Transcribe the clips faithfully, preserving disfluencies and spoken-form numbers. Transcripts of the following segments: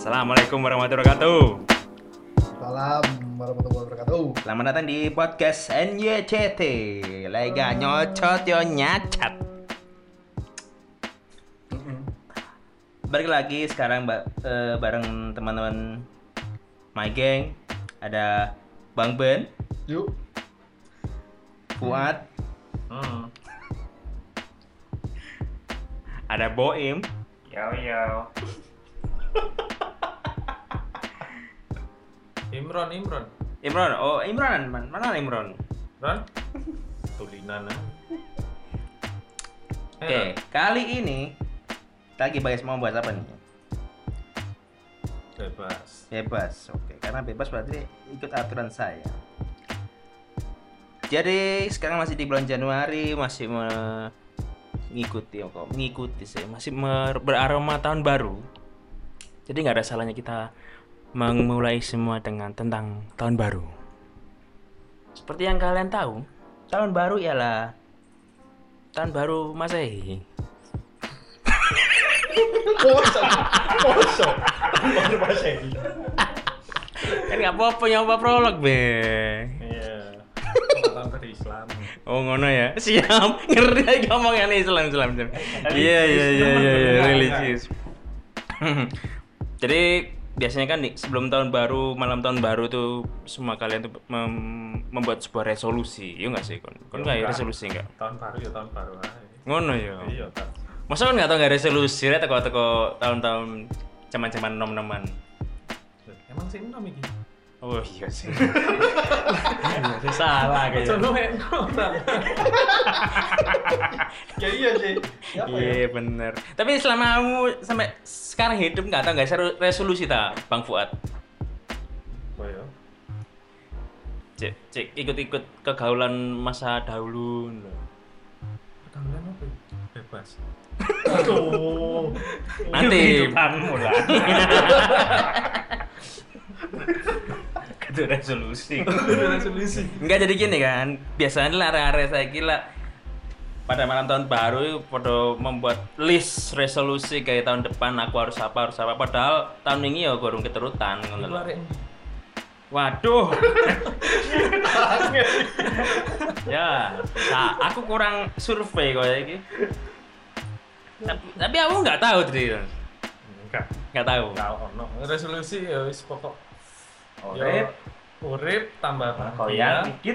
Assalamualaikum warahmatullahi wabarakatuh. Salam warahmatullahi wabarakatuh. Selamat datang di podcast N Y C T. Lega nyocot yo nyacat. Balik lagi sekarang ba- eh, bareng teman-teman My Gang. Ada Bang Ben, Yuk. Fuad, Hmm. ada Boim, Yo yo. Imron Imron. Imron. Oh, Imron, man. Mana Imron? Imron. Tulinan. ah. Oke, kali ini kita lagi bahas mau bahas apa nih? Bebas. Bebas, oke. Karena bebas berarti ikut aturan saya. Jadi sekarang masih di bulan Januari, masih mengikuti, kok mengikuti sih, masih mer- beraroma tahun baru. Jadi nggak ada salahnya kita memulai semua dengan tentang tahun baru. Seperti yang kalian tahu, tahun baru ialah tahun baru Masehi. Mosok. Mosok. Baru Masehi. Kan nggak apa-apa nyoba prolog be. Iya. Tahun berislam. Oh ngono ya. Siap. Ngerti ngomongnya Islam Islam. Islam. Iya iya iya iya iya religius. Jadi biasanya kan nih, sebelum tahun baru, malam tahun baru tuh semua kalian tuh mem- membuat sebuah resolusi. Iya enggak sih kon? Kon enggak ya resolusi enggak? Tahun baru ya tahun baru aja. Ngono ya. Iya kan. Masa kan enggak tahu enggak resolusi rek teko-teko tahun-tahun zaman-zaman nom-noman. Emang sih enam iki. Oh iya sih. Iya sih salah kayaknya. Sono enak. Ya iya sih. Siapa ya? Iya bener. Tapi selama kamu sampai sekarang hidup nggak tahu nggak seru- resolusi ta, Bang Fuad? Oh ya. Cek, cek ikut-ikut kegaulan masa dahulu. Pertanyaan apa? ya? Bebas. Aduh. Nanti. Kehidupanmu lah. Itu resolusi. Resolusi. Enggak jadi gini kan. Biasanya lah area-area saya gila pada malam tahun baru itu pada membuat list resolusi kayak tahun depan aku harus apa harus apa padahal tahun ini ya gorong keterutan ngono lho. Keluar ini. Waduh. Ya, nah, aku kurang survei kok iki. Tapi, tapi aku nggak tahu tadi. Enggak. Nggak tahu. Enggak ono. Resolusi ya wis pokok Urip, urip tambah goyang bahagia. dikit.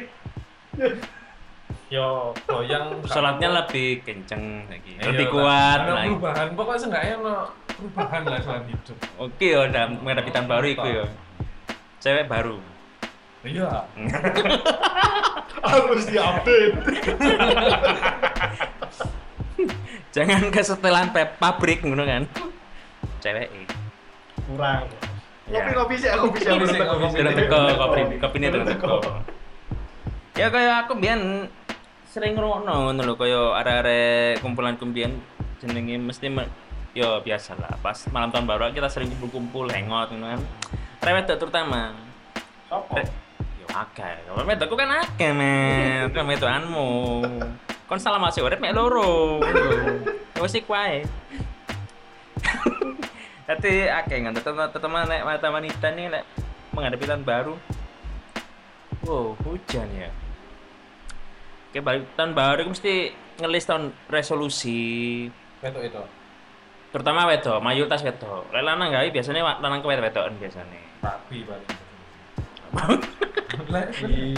Yo goyang Sholatnya lebih kenceng lagi. Iya, Lebih tak- kuat ada lagi. perubahan pokoknya seenggaknya ono perubahan lah selama hidup. Oke ya, udah menghadapi tahun baru itu ya. Cewek baru. Iya. Harus diupdate. Jangan kesetelan pe- pabrik ngono kan. Cewek. Kurang. Ya. Kopi-kopi sih, kopi sih. Kopi sih, kopi sih. Sudah teko kopi kopi ini terus teko. Ya kayak aku biyen sering ngrungokno ngono lho kaya arek-arek kumpulan kumbian jenenge mesti me- ya biasalah pas malam tahun baru kita sering kumpul-kumpul hangout ngono kan. Rewet terutama. Sopo? Re- Yo akeh. Kalau wedokku kan akeh men. Kan wedokanmu. Kon salah masih urip mek loro. Wis iku wae. Tapi akeh kan teman-teman nek mata wanita nih lek menghadapi tahun baru. Wow, hujan ya. Oke, balik tahun baru mesti ngelis tahun resolusi. Itu itu. Terutama wedok, mayoritas wedok. Lek lanang gawe biasanya wa- lanang ke wedok-wedokan biasanya. Rapi paling. Lek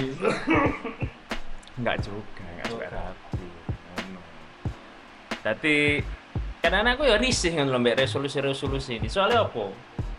Enggak juga, enggak juga rapi. Ngono. Dadi kadang aku ya risih ngono lho mbek resolusi-resolusi ini. Soalnya apa?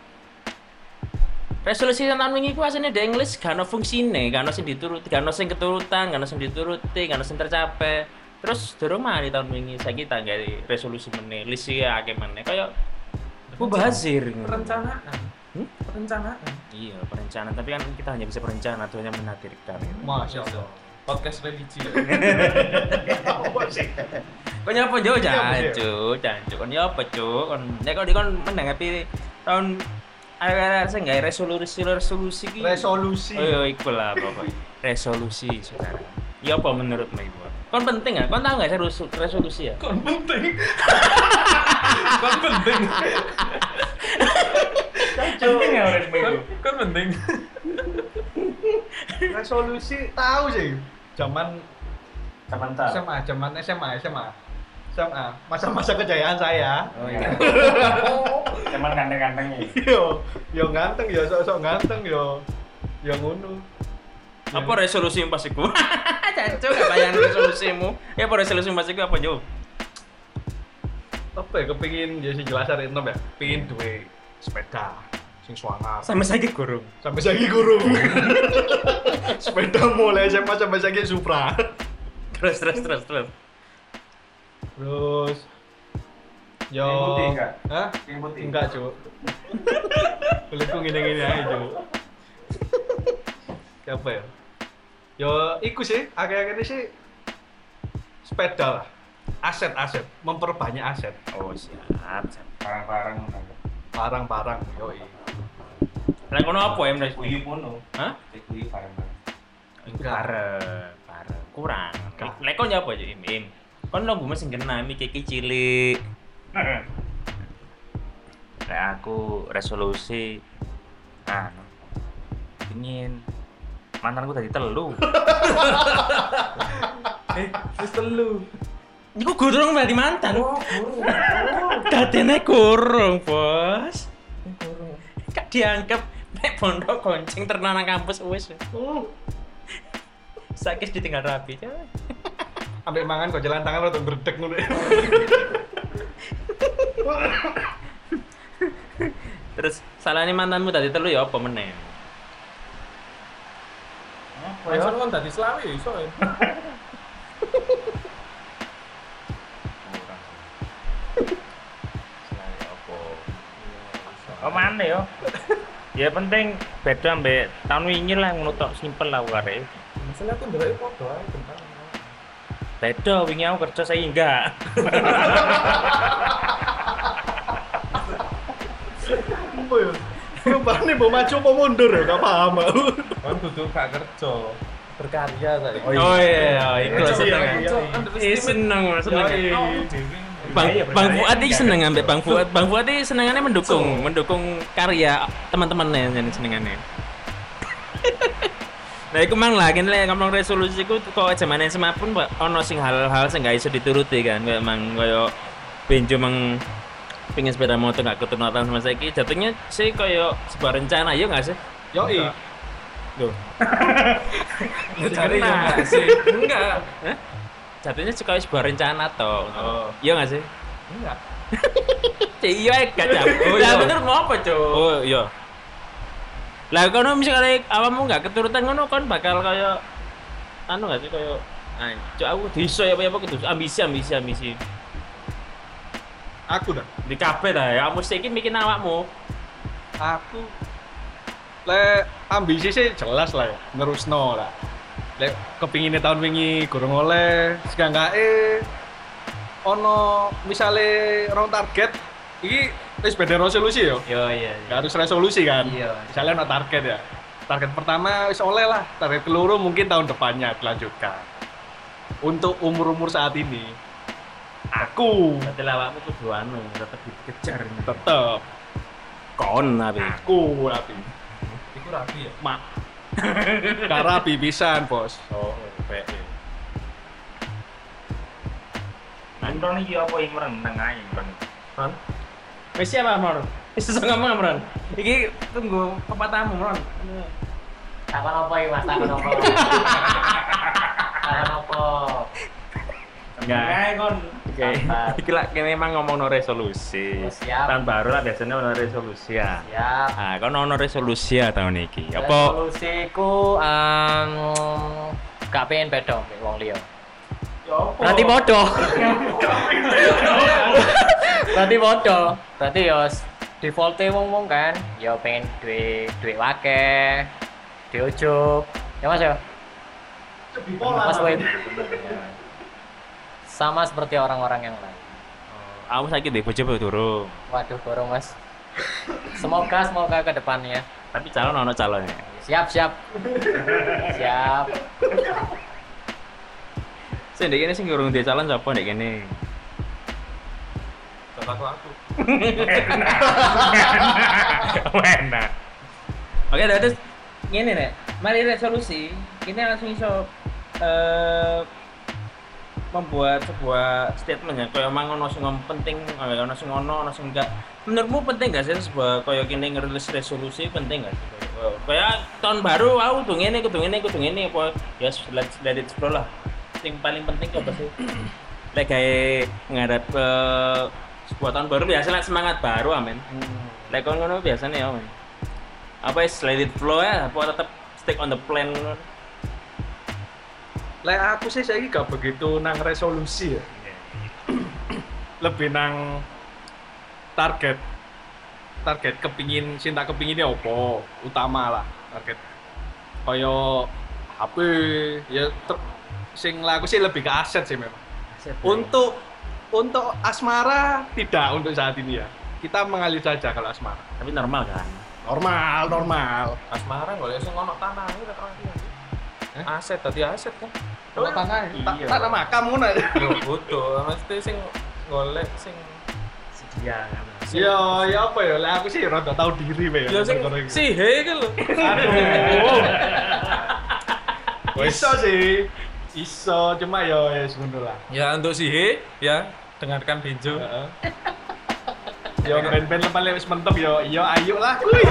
Resolusi tahun wingi ku asline di English gak ono fungsine, gak ono sing dituruti, gak ono sing keturutan, gak ono sing dituruti, gak ono sing tercapai. Terus durung mari tahun wingi saiki tak gawe resolusi meneh, list ya akeh meneh. Kaya mubazir ngono. perencanaan. Hmm? Perencanaan. Iya, perencanaan, tapi kan kita hanya bisa berencana, Tuhan yang menakdirkan. Masya Allah. Podcast religi. Apa sih? Kau nyapa jo Iya, jancu, jancu. Kau nyapa cu, kon nek kau dikon menanggapi tahun ada saya nggak resolusi resolusi ki. Resolusi. Oh iya, iku lah pokoknya. Resolusi saudara. Ya apa menurut Mbak Ibu? Kon penting nggak? Kon tahu nggak sih resol- resolusi ya? Kon penting. Kon penting. Penting ya orang Kan, kan penting. resolusi tahu sih. Zaman Zaman S M A, zaman S M A, S M A. S M A, masa-masa kejayaan saya. Oh iya. Cuman ganteng-gantengnya. Yo, yo ganteng, yo sok-sok ganteng, yo yo ngono. Apa resolusimu pas iku? Jancuk gak bayang resolusimu. Ya apa resolusimu pas iku apa, Jo? Apa ya kepengin ya sing jelas arek enom ya. Pengin duwe sepeda sing swanger. Sampai saiki gurung. Sampai saiki guru. Sepeda mulai S M A sampai saiki Supra. Terus terus terus terus. Terus yo Yang putih enggak? Hah? Yang putih. Enggak, Cuk. Kulitku ngene-ngene aja, Cuk. Apa ya? Yo iku sih, akhir-akhir ini sih sepeda lah. Aset-aset, memperbanyak aset. Oh, siap. siap. Barang-barang. Barang-barang, yoi. Lah kono apa ya, Mas? Kuyu pono. Hah? Kuyu barang-barang. Bareng, bareng. Kurang. Enggak. Lek kon ya apa, Jo? Im, im. Kon lo gue sing kena mi kiki cilik. Lek aku resolusi anu pengin mantanku tadi telu. Eh, wis telu. Iku gurung berarti mantan. Oh, guru. Dadene kurung, Bos. Eh, guru. Kak dianggap nek pondok gonceng ternak nang kampus wis. Sakit ditinggal rapi. Coy. Ambek mangan kok jalan tangan rada berdek ngono. Terus salahnya mantanmu tadi telu ya apa meneh? Apa Iso ya? kan tadi selawi ya iso ya. Salahnya apa? Oh mana ya? Ya penting beda ambek tahun wingi lah ngono tok simpel lah kare. Masalah aku ndelok foto ae tentang. Beda wingi aku kerja saya enggak. Apa ya? Rupane mbok maju apa mundur ya, gak paham aku. Kan kudu gak kerja, berkarya saya. Oh iya, iku Iya, seneng. iya, iya. Eh seneng, seneng. Yoi. Bang, Iya, Bang berkarya Fuad iki enggak. seneng ambek Bang Fuad. Bang Fuad iki senengannya mendukung, mendukung karya teman-temannya yang senengannya. Nah, iku mang lah kene lek ngomong resolusi ku kok zaman S M A pun Pak, ono sing hal-hal sing gak iso dituruti kan, kayak mang koyo benjo mang pingin sepeda motor gak keturunan sama saiki jatuhnya sih koyo sebuah rencana ya gak sih? Yoi. Loh. Cari Nah, enggak sih? enggak. Hah? Jatuhnya sih kayak sebuah rencana toh. Oh. Iya gak sih? Enggak. Cek iya gak cap. Oh, Lah iya. bener mau apa, Cuk? Oh iya. Lah kono misalnya awakmu gak keturutan ngono kon bakal kaya anu gak sih kaya anjuk aku diiso ya apa kudu ambisi ambisi ambisi. Aku dah. Di kabeh ta ya mesti iki mikir awakmu. Aku le ambisi sih jelas lah ya, nerusno lah. Lek kepinginnya tahun wingi gorong oleh, seganggake ono misale rong target iki wis beda resolusi yo. Yo iya. Gak harus resolusi kan. Iya. Misalnya ono target ya. Target pertama wis oleh lah, target keluru mungkin tahun depannya dilanjutkan. Untuk umur-umur saat ini aku Berarti awakmu kudu anu tetep dikejar. tetep Kon tapi. aku rapi. Iku rapi ya. Mak. Gak rapi pisan, Bos. Oh, baik. Nonton iki apa yang merenang ae kan. Kan? Wis siapa, Mor? Wis iso ngomong, Mron. Iki tunggu pepatahmu, Mron. Takon apa iki Mas? Takon apa? Takon apa? Enggak. Kae kon. Oke. Iki lak kene emang ngomongno resolusi. Oh, siap. Tahun baru lah biasanya ono resolusi ya. Siap. Ah, kon ono resolusi ya tahun iki. Apa? Resolusiku um, gak pengen beda mbek wong liya. Ya apa? Berarti bodoh. Berarti bodoh. Berarti ya default wong-wong kan, ya pengen duwe duwe akeh, duwe ujug. Ya Mas ya? Mas Wib. Sama seperti orang-orang yang lain. Aku saiki ndek bojo apa durung? Waduh, borong Mas. Semoga semoga ke depannya. Tapi calon ono calonnya. Siap, siap. Siap. Sing ndek kene sing urung ndek calon sapa ndek kene? Gak aku aku. Enak. Oke, terus ngene nek, mari resolusi. Kita langsung iso eh membuat sebuah statement ya, kayak emang ono sing penting, eh, ono sing ono, ono sing enggak. Menurutmu penting gak sih sebuah kayak gini ngerilis resolusi penting gak sih? Kayak- Kayak tahun baru, aku kudu ngene, kudu ngene, kudu ngene apa ya let let it flow lah. Yang paling penting apa sih? Lek kayak ngarep ke sebuah tahun baru biasa semangat baru amin. Lek kon ngono biasanya ya amin. Apa is let it flow ya, apa tetap stick on the plan ngono? Lek aku sih saya gak begitu nang resolusi ya. Lebih nang target. Target kepingin cinta kepinginnya opo utama lah target. Kaya H P ya ter- sing lah aku sih lebih ke aset sih memang. Untuk untuk asmara tidak untuk saat ini ya. Kita mengalir saja kalau asmara. Tapi normal kan? Normal, normal. Asmara golek sing ono tanah iki tak ngerti. Aset tadi aset kan. Kalau tanah, Iya. tak tanah makam ngono. Yo butuh, mesti sing golek sing Sedia kan. Ya, ya apa ya? Lah aku sih rada tahu diri we yo sing perkara iki. si he iki lho. Aduh. Iso sih. Iso, cuma ya ya ngono lah. Ya untuk si he ya dengarkan Benjo. Heeh. Yo ben-ben lepas wis mentok yo, yo ayo lah kuy.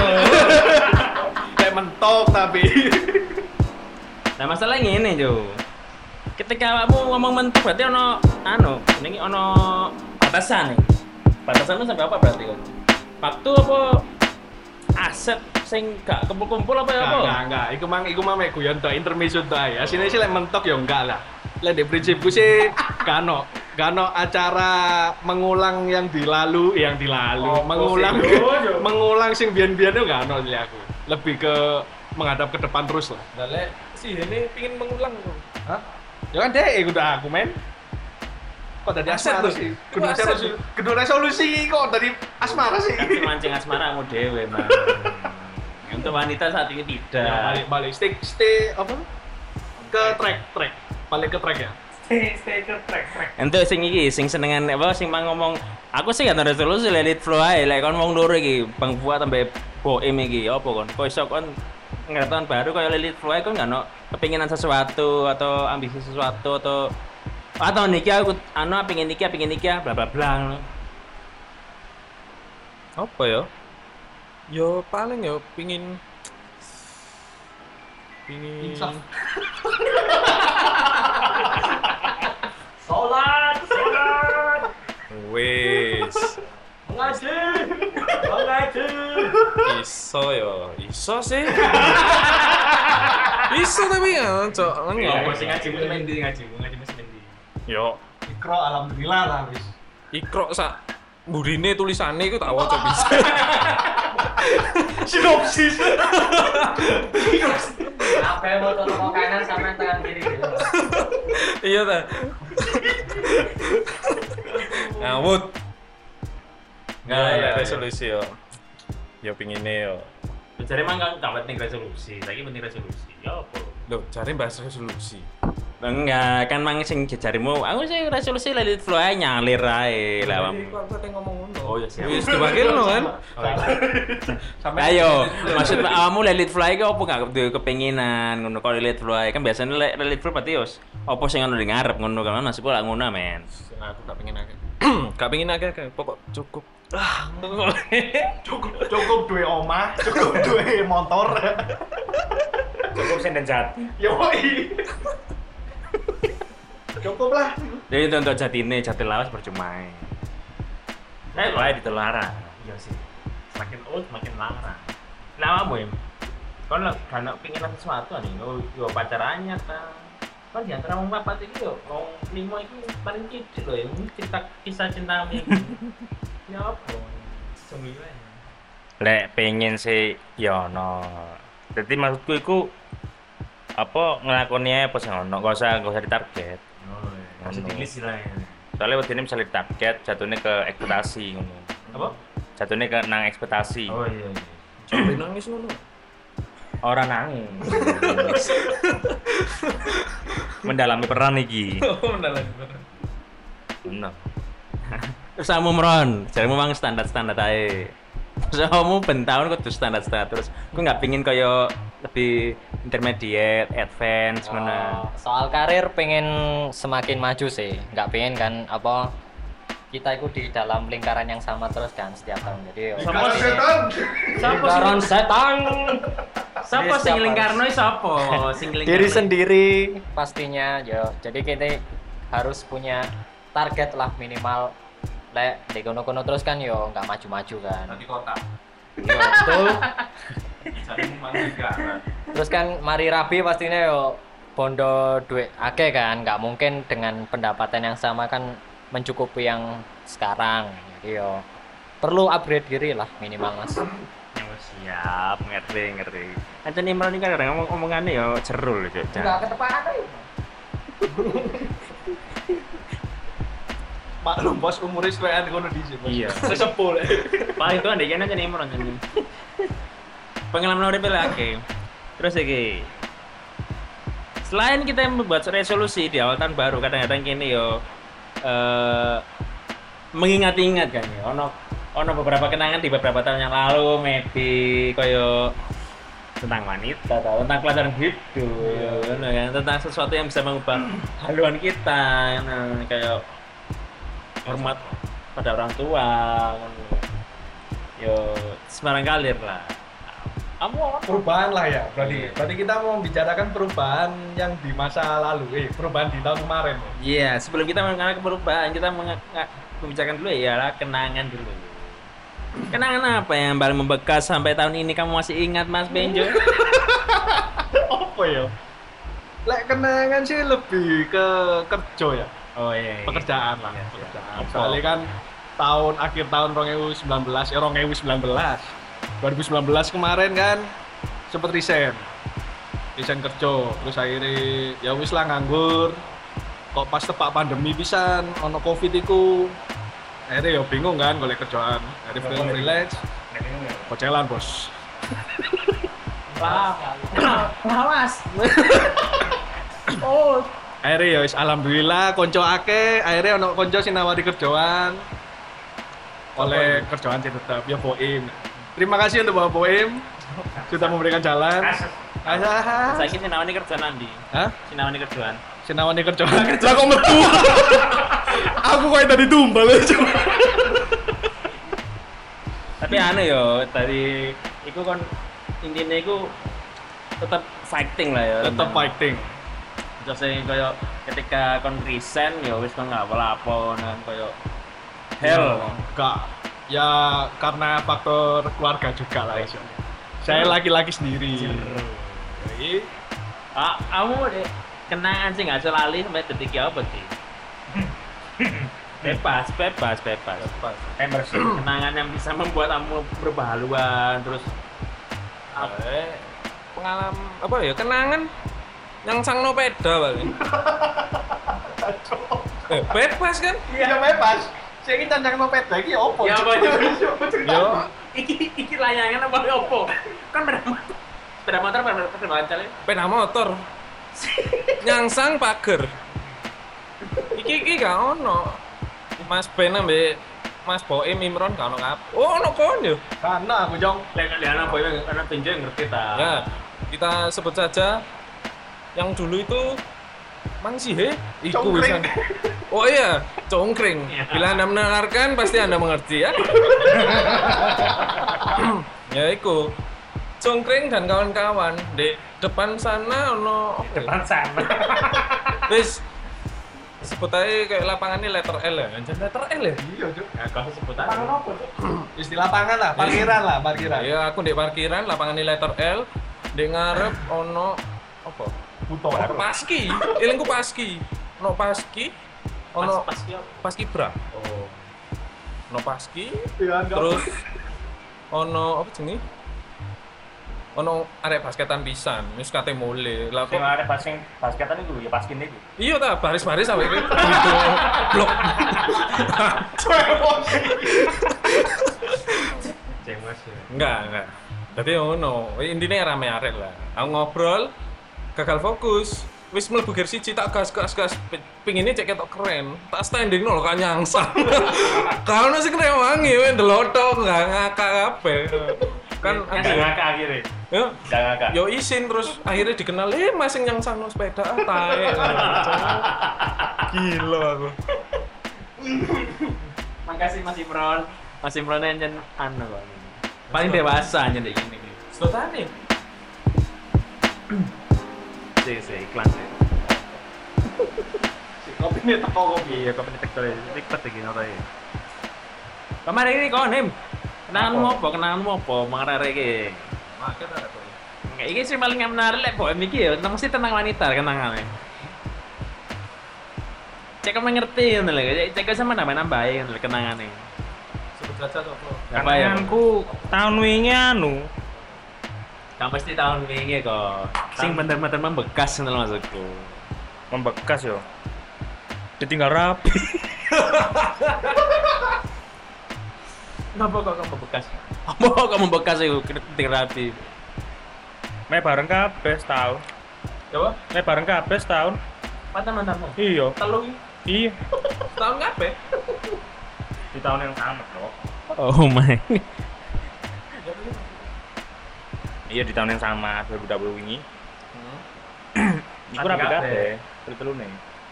Kayak mentok tapi. Nah masalahnya ini Jo. Ketika kamu ngomong mentok berarti ono anu, ini ono batasan nih. Batasannya sampai apa berarti kan? Waktu apa aset sing gak kumpul-kumpul apa ya apa? Enggak, enggak, iku mang iku mang mek guyon tok intermezzo tok ae. Asine sih lek mentok yo enggak lah. Lek di prinsipku sih gak ono, gak ono acara mengulang yang dilalu, yang dilalu, Oh, mengulang sih, yo, yo. mengulang sing biyen-biyen enggak ono lek aku. Lebih ke menghadap ke depan terus lah. Lah lek si he ini pengin mengulang lho. Hah? Ya kan deh, udah aku men. Kok dari Aset asmara lho. sih? Itu Kudu aset resolusi, kudu resolusi kok dari asmara sih. Tapi mancing asmara kamu dewe man. Untuk wanita saat ini Ya, tidak. balik balik stay stay apa? Ke track track. Balik ke track ya. Stay stay ke track track. Ente sing iki sing senengan apa sing mang ngomong aku sih gak ada resolusi let it flow ae lek kon wong loro iki Bang Fuad sampe Boim iki apa kon kok iso kon ngerti tahun baru kaya let it flow ae kon gak ono kepinginan sesuatu atau ambisi sesuatu atau atau niki aku anu pengen niki pengen niki bla bla bla ngono. Apa ya? Yo paling yo pengin pengin Insaf. Salat, salat. wis Mengaji. Mengaji. iso yo iso sih iso tapi ya cok Apa sing ngaji mesti ndi ngaji ngaji mesti ndi. yo Ikro alhamdulillah lah wis. ikro sak burine tulisane iku tak waca bisa Sinopsis. Apa yang mau tolong kanan sama tangan kiri gitu. iya ta ngawut nggak Ya, ya, ya ya. resolusi yo yo pingine yo Cari emang gak gak penting resolusi, lagi penting resolusi. Ya apa? Loh, cari bahas resolusi. Enggak, kan mang sing jejarimu, aku sih resolusi let it flow ae nyalir ae lah. Mam. Kok kate ngomong ngono? Oh ya siap. Wis dibakilno kan? Ayo, maksud kamu let it flow ae apa gak duwe kepenginan ngono kok let it flow ae kan biasanya let let it flow berarti yos apa sing ngono di ngarep ngono kan nasibku lak ngono men. Aku gak pengen akeh. Gak pengen akeh akeh, pokok cukup. Ah, Cukup cukup duwe omah, cukup duwe motor. Cukup sen dan jati. Yoi. Cukup lah. Jadi itu untuk jatine jati lawas percuma. Eh, wae ditelarang. Iya sih. Semakin old semakin larang. Nah, kamu ya. Kan lah karena pingin sesuatu nih, yo yo pacarannya ta. Kan di antara wong papat iki yo wong limo iki paling kecil loh ya. Ini cerita kisah cinta iki. Ya apa? Sembilan. Lek pengen sih ya ono. Jadi maksudku iku apa ngelakoni apa sih ono, gak usah gak usah ditarget. Oh, iya. Masih di list lah ya. Soalnya waktu ini bisa ditarget, jatuhnya ke ekspektasi ngono. Apa? Jatuhnya ke nang ekspektasi. Oh iya iya. Sampai nangis ngono. Orang nangis. Mendalami peran iki. Oh, mendalam bener. Bener. Terus kamu meron, jadi memang standar-standar aja. Terus kamu ben tahun kudu standar-standar terus. Aku nggak pingin kayak lebih intermediate, advance mana. Oh, soal karir pengen semakin maju sih, nggak pengen kan apa kita itu di dalam lingkaran yang sama terus kan setiap tahun. Jadi yo, Sama pasti- setan. Siapa lingkaran sih? setan. Siapa Jadi sing siapa? lingkarno siapa? Sing Diri lingkarno. sendiri pastinya yo. Jadi kita harus punya target lah minimal. Lek di kono-kono terus kan yo nggak maju-maju kan. Nanti kota. Yo, betul. Cari negara. Terus kan mari rabi pastinya yo bondo duit akeh kan, nggak mungkin dengan pendapatan yang sama kan mencukupi yang sekarang. Jadi yo perlu upgrade diri lah minimal mas. Oh, siap, ngerti ngerti. Ancen Imran ini kan kadang ngomong omongannya ya cerul Cuk. ketepaan aja. Maklum bos umurnya sesuaian kono di sini. Iya. Sesepuh. Paling itu andek aja Imran Ancen. Pengalaman urip lagi. Terus iki. Selain kita membuat resolusi di awal tahun baru, kadang-kadang gini yo eh mengingat-ingat kan ya. Ono ono beberapa kenangan di beberapa tahun yang lalu, maybe koyo tentang wanita atau tentang pelajaran hidup, ngono kan, tentang sesuatu yang bisa mengubah haluan kita, ngono kayak hormat pada orang tua, ngono. Yo Semarang kalir lah. Kamu apa? Perubahan lah ya, berarti berarti kita mau membicarakan perubahan yang di masa lalu, eh perubahan di tahun kemarin. Iya, sebelum kita mengenal perubahan, kita menge- nga- membicarakan dulu ya lah kenangan dulu. Kenangan apa yang paling membekas sampai tahun ini kamu masih ingat Mas Benjo? Apa ya? Lek kenangan sih lebih ke kerja ya, Oh iya, iya. pekerjaan lah, Iya, iya. pekerjaan. Apa? Soalnya kan tahun akhir tahun dua ribu sembilan belas, ya dua ribu sembilan belas, dua ribu sembilan belas kemarin kan sempet resign, resign kerja, terus akhirnya ya wis lah nganggur. Kok pas tepak pandemi pisan, ono covid iku, akhirnya ya bingung kan golek kerjaan, akhirnya film freelance, kocelan bos. Lawas. Oh, Akhirnya ya wis alhamdulillah konco akeh, akhirnya ono konco sing nawari kerjaan. Oleh kerjaan sih tetap ya Boim. Terima kasih untuk Bapak Boim sudah memberikan jalan. Ah, Saya kira nawani kerjaan nanti. hah? Sinawani kerjaan. Sinawani kerjaan. Lah kok metu. Aku kayak tadi tumbal aja. Tapi aneh yo, tadi iku kon intinya iku tetap fighting lah ya. Tetap fighting. Terus kayak ketika kon resign ya wis kon nggak apa-apa nang kayak hell. Enggak. Ya karena faktor keluarga juga lah iso. Saya laki-laki sendiri. Jadi Ah, kamu deh kenangan sih nggak lali sampai detik apa sih? Bebas, bebas, bebas. Bebas. Kenangan yang bisa membuat kamu berubah haluan terus Eh, pengalaman apa ya kenangan yang sang peda paling. Eh, bebas kan? iya bebas. Saya ini cancang peda iki opo? Ya, apa itu? Yo, iki iki layangan apa opo? Kan sepeda motor, sepeda motor pada pada bancalnya. sepeda motor. Nyangsang pager. Iki iki gak ono. Mas Ben ambek Mas Boim Imron gak ono ngap. Oh, ono kon yo. Karena aku jong. Lek anak boy anak pinjau yang ngerti ta. Ya, kita sebut saja yang dulu itu Mang Sihe, iku Congkring. wisan. Oh iya, congkring. Iya. Bila Anda mendengarkan pasti Anda mengerti ya. Ya iku. Congkring dan kawan-kawan di depan sana ono apa ya? Depan sana. Wis sebut aja kayak lapangan ini letter L ya. Anjir letter L ya. Iya, Cuk. Ya kau sebut aja. Istilah lapangan lah, parkiran lah, parkiran. Ya aku di parkiran lapangan ini letter L. Di ngarep ono apa? Buto. Paski, ilingku paski. Ono paski, ono Pas pas yo. paski bra. Oh. Ono paski, Iya, enggak. terus ono apa jenenge? Ono arek basketan pisan, wis kate mule. Lah Sing kok arep basing basketan iku ya paskin iku. iya ta baris-baris sampe iki. Gitu. Blok. Cemas ya. Enggak, enggak. Jadi ngono, intinya rame arek lah. Aku ngobrol, gagal fokus, wis mlebu gear siji tak gas gas gas pingine cek ketok keren. Tak standing lho kan nyangsang. Kalau sing rewangi we ndelok tok enggak ngakak kabeh. Kan Enggak ngakak akhirnya. yo Enggak ngakak. yo isin terus akhirnya dikenal eh mas sing nyangsangno sepeda ah, tae. Gila aku. Makasih Mas Imron. Mas Imron nyen anu kok. Paling dewasa nyen ndek gini. Slotane. Sih, sih iklan sih. Kopi ini teko kopi. Iya, kok penetek tole. Tikpet iki ngono ya. Kemarin ini kok Nim. Kenanganmu apa? Kenanganmu apa? Mengarare iki. Maket ada kok. Nggak, ini sih paling menarik lek bohem iki ya, mesti tentang wanita kenangannya. Cek kamu ngerti ngono lho, cek sama nambah-nambahin lho kenangannya. Sebut saja apa? Apa ya? Kangenanku tahun wingi anu. Kamu pasti tahun wingi kok. Sing bener-bener membekas ngono lho maksudku. Membekas yo. Ditinggal rapi. Kenapa kok kamu membekas? Apa kok kamu membekas itu ketik rapi? Me bareng kabeh setahun. Coba, Me bareng kabeh setahun. Mantan-mantanmu. Iya. telu Iya. tahun kabeh. Di tahun yang sama, Bro. Oh my. Iya di tahun yang sama dua ribu dua puluh wingi. Hmm. Iku rapi kabeh. Telu-telune.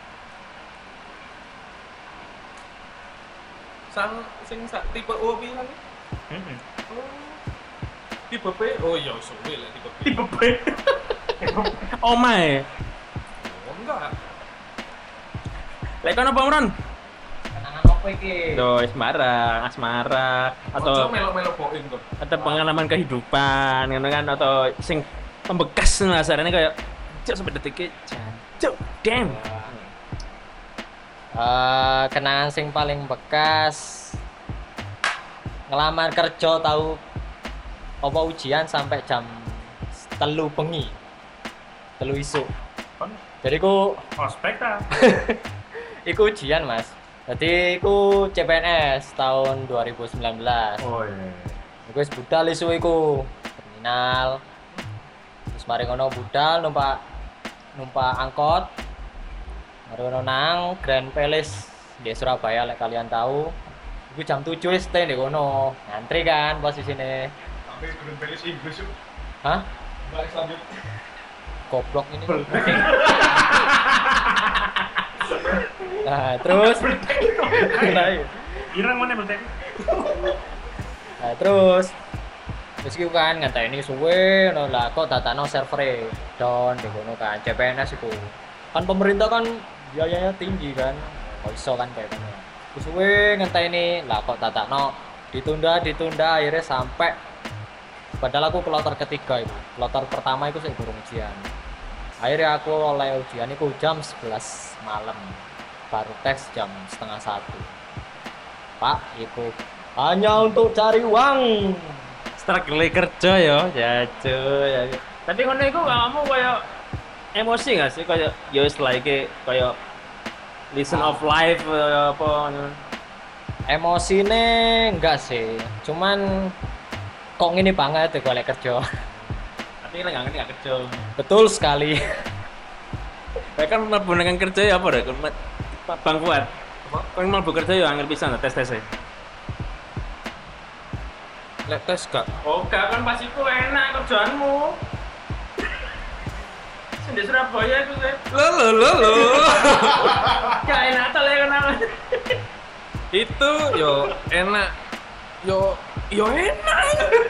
Sang sing sak tipe O piye kan? Heeh. Oh. Tipe P. Oh iya suwe lah tipe P. Tipe B. Oh my. Oh enggak. Lek kono apa Imron? Kenangan apa iki? Do asmara, asmara Atau atau melo-melo poin kok. atau pengalaman kehidupan ngono kan atau sing membekas rasanya kayak cuk sampai detik iki cuk damn. Eh, kenangan sing paling bekas ngelamar kerja tahu apa ujian sampai jam telu bengi telu isuk jadi ku Ospek ta? iku ujian mas jadi iku C P N S tahun dua ribu sembilan belas Oh iya. iku wis budal isu iku terminal terus mari ngono budal numpak numpak angkot mari ngono nang Grand Palace di Surabaya lek kalian tahu iku jam tujuh wis stay di kono ngantri kan posisine Sampai Green Palace Inggris yuk. hah Balik selanjutnya. goblok ini nah terus Ireng mana berarti? nah terus terus iku kan ngenteni suwe no lah kok datano server down di kono kan C P N S iku kan pemerintah kan biayanya tinggi kan kok iso kan kayak ngono terus suwe ngenteni lah kok datano ditunda ditunda akhirnya sampai padahal aku kloter ketiga itu kloter pertama itu saya burung ujian akhirnya aku oleh ujian itu jam sebelas malam baru tes jam setengah satu pak itu hanya untuk cari uang Struggle kerja ya, jacu ya. Tapi ngono iku kamu kayak emosi gak sih kayak ya wis like kayak listen of life eh, apa ngono. emosine enggak sih cuman kok ngene banget ya golek kerja Tapi lek nggak ngerti gak kerja. betul sekali Kayak kan mlebu nang kerja ya apa rek? Bang Fuad. Kan mlebu kerja ya angel pisan tes-tes. Lek tes gak? Oh, gak kan pas iku enak kerjaanmu. Sing di Surabaya itu sih. Lo lo lo lo. Gak enak ta lek kenal. Itu yo enak. Yo yo enak.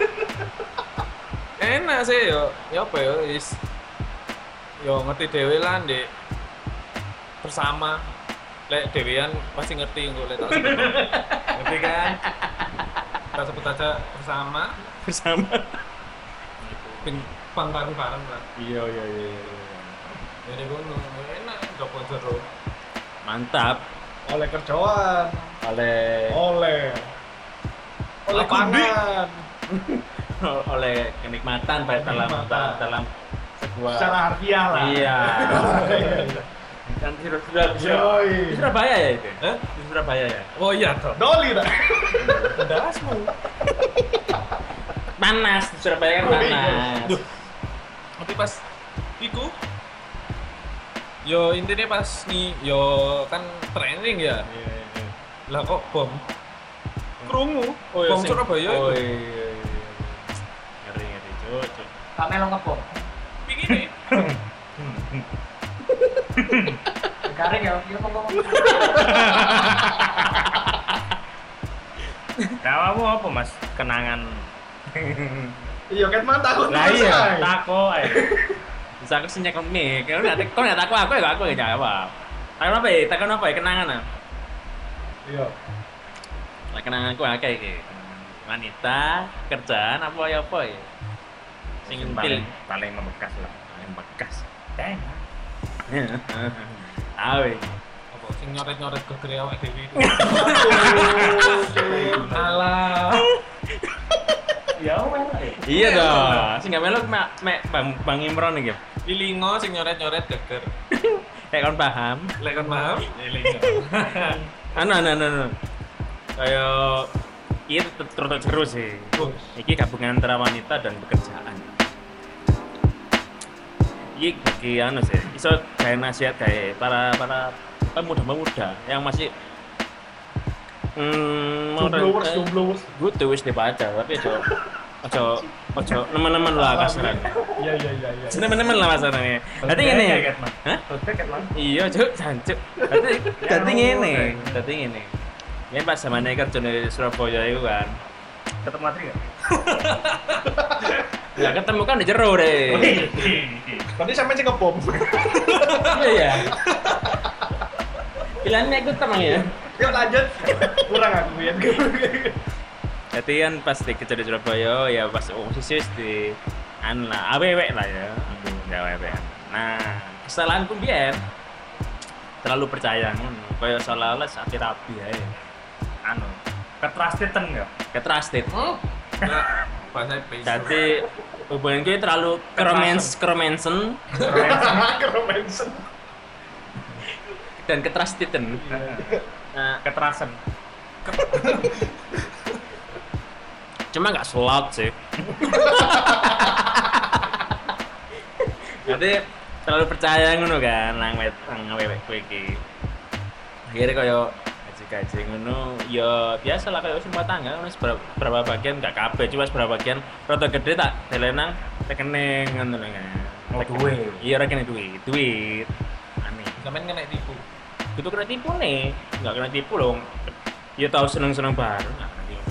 Enak sih yo. Ya apa yo is. Yo ngerti dhewe lah Ndek. Bersama. Lek dhewean pasti ngerti engko lek tak sebut. Ngerti kan? Kita sebut aja bersama. Bersama. Pin pang bareng-bareng lah. Iya iya iya. Jadi ngono, enak jopo jero. Mantap. Oleh kerjaan. Oleh Oleh. Oleh Lapangan. oleh kenikmatan baik dalam Kenikmatan. dalam sebuah Secara harfiah lah. Iya. Kan sudah sudah Yoi. di Surabaya ya itu. Eh? Di Surabaya ya. Oh iya toh. Doli tak? Dasmu. Panas di Surabaya kan Oh, iya. panas. Duh. Tapi pas iku Yo intinya pas nih, yo kan training ya. Iya, iya. Lah kok bom? Krungu. Oh, iya, Bom sing- Surabaya Oh itu. iya, iya, iya. Ngeri ngeri cuk, cuk. Kak Melo ngebom. Begini. Garing ya, iya ngomong. Kamu apa Mas? Kenangan. Iya kan man takut Lah terus, iya, ay. tako ae. Bisa aku sih nyekel mic. Kalau nggak kau nggak takut aku ya aku ya jawab. Takon apa ya? Takon apa ya? Kenangan ah. Iya. Lah kenanganku akeh iki. Wanita, kerjaan apa ya apa ya? Sing Sing paling paling paling membekas lah. paling bekas. Deng. Tahu iki. Apa sing nyoret-nyoret ke gere awake dhewe itu. Alah. Ya wes. Iya dong. Sing gak melok mek mek Bang Bang Imron iki. Lilingo sing nyoret-nyoret geger. Kayak kon paham. Lek kon paham? Anu anu anu. anu. Kayak ini terus terus sih. Iki gabungan antara wanita dan pekerjaan. Iki bagi anu sih. Iso kayak nasihat kayak para para pemuda-pemuda yang masih hmm mau Jomblowers, jomblowers. gue tuh wis dibaca tapi aja aja aja teman-teman lah kasaran. Iya iya iya iya. Teman-teman lah kasarannya. Dadi ngene ya. Hah? Tiket Mas. Iya, Cuk, jancuk. Dadi dadi ngene, dadi ngene. Ya pas zamane kerja di Surabaya itu kan. Ketemu Matri enggak? Ya ketemu kan di jero deh. Berarti sampai sih ngebom. Iya ya. Pilihannya ikut teman ya. Yuk lanjut. Kurang aku ya. Jadi kan pas di kerja di Surabaya ya pas posisi wis di an lah, awewek lah ya. Ya awewek. Nah, kesalahanku biar terlalu percaya ngono. Kayak seolah-olah sakit rapi ae. Anu, ketrusteden enggak? Ketrusted. Nah, bahasa Inggris. Jadi hubungan gue terlalu keromens keromensen Keromensen. dan ketrusteden. Nah, Keterasen. cuma nggak slot sih. Jadi terlalu percaya ngono kan nang wet nang wewek kowe iki. Akhirnya kaya gaji-gaji ngono ya biasa lah kaya semua tangga ngono seberapa, berapa bagian nggak kabeh cuma seberapa bagian rada gede tak delenang rekening ngono lho kan. Oh, duit. Iya rekening duit, duit. Aneh. Sampeyan kena tipu. Itu kena tipu nih, nggak kena tipu loh. Ya tahu seneng-seneng baru. Nah,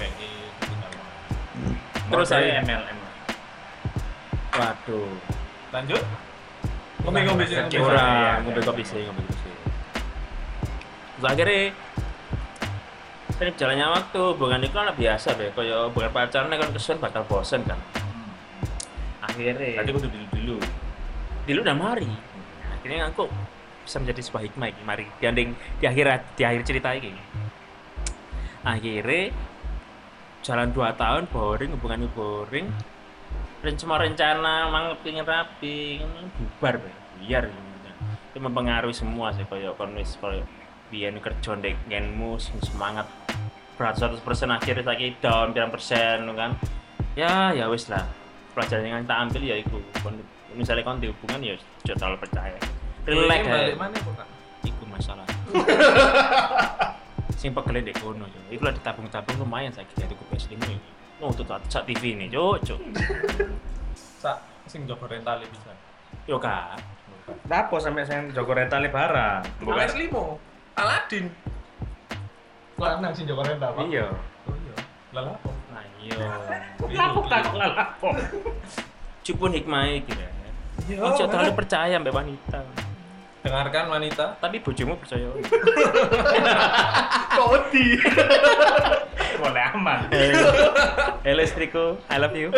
terus saya M L M. waduh. Lanjut. Ngombe-ngombe sih. Iya, Kurang, ngombe kopi sih, ngombe kopi sih. Terus akhirnya sering berjalannya waktu, hubungan itu kan biasa deh, kayak hubungan pacaran kan kesuwen bakal bosen kan. Akhirnya, Tadi kudu dulu dulu. dulu udah mari. Akhirnya aku bisa menjadi sebuah hikmah ini, mari di ending, di akhir di akhir cerita ini. Akhirnya jalan dua tahun boring, hubungannya boring. Dan semua rencana mang pengen rapi, kan bubar be. Biar itu mempengaruhi semua sih kayak konis kayak biyen kerja ndek ngenmu semangat berat seratus persen akhirnya lagi down berapa persen kan. Ya ya wis lah. Pelajaran yang kita ambil ya itu. Misalnya kon di hubungan ya jangan terlalu percaya. Relax balik ae. mana kok? Iku masalah. Sing pegel ndek kono yo. Iku lah ditabung-tabung lumayan saiki jadi ku P S lima iki. Oh, tuh sak T V ini, cuk, cuk. Sak sing jogo rental bisa. Yo kak. Apa sampai saya Joko Rental barang? Bukan P S lima. Aladin. Lanang sih Joko Rental, Pak. Iya. Oh iya. Lah apa? Nah, iya. Lapuk tak lapuk. Cupun hikmah iki ya. Iya. Ojo terlalu percaya mbak wanita. Dengarkan wanita. Tapi bojomu percaya. Kodi. Boleh aman. Hello istriku, I love you.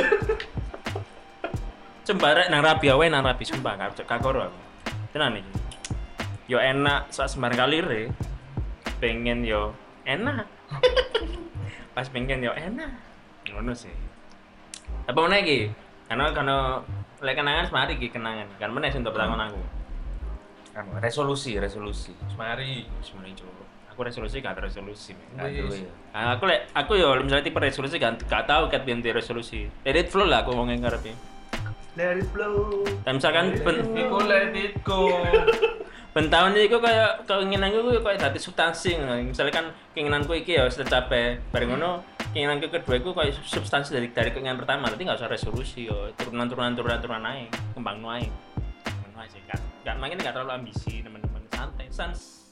Cembara nang rabi awe nang rabi sumpah gak kakoro aku. Tenan iki. Yo enak sak sembarang kali re. Pengen yo enak. Pas pengen yo enak. Ngono sih. Apa meneh iki? Karena karena lek kenangan semari iki kenangan. Kan meneh sing untuk pertangon aku. Anu, resolusi, resolusi. Mari. Semari coba. Aku resolusi gak ada resolusi. men. Gak ada, ya. Nah, aku lek aku yo misalnya tipe resolusi gak gak tahu kat biyen resolusi. Let it flow lah aku ngomongin ngarepe. Let it flow. Dan misalkan ben, Iku let it go. ben tahun iku kaya keinginanku ku kaya dadi substansi ngono. Misalnya kan keinginanku iki ya wis tercapai. Bareng ngono keinginanku kedua iku kaya substansi dari dari keinginan pertama. Berarti enggak usah resolusi yo. Turunan-turunan turunan-turunan ae, kembang ae. Ngono ae sih kan. Enggak makanya enggak terlalu ambisi teman-teman. Santai, sans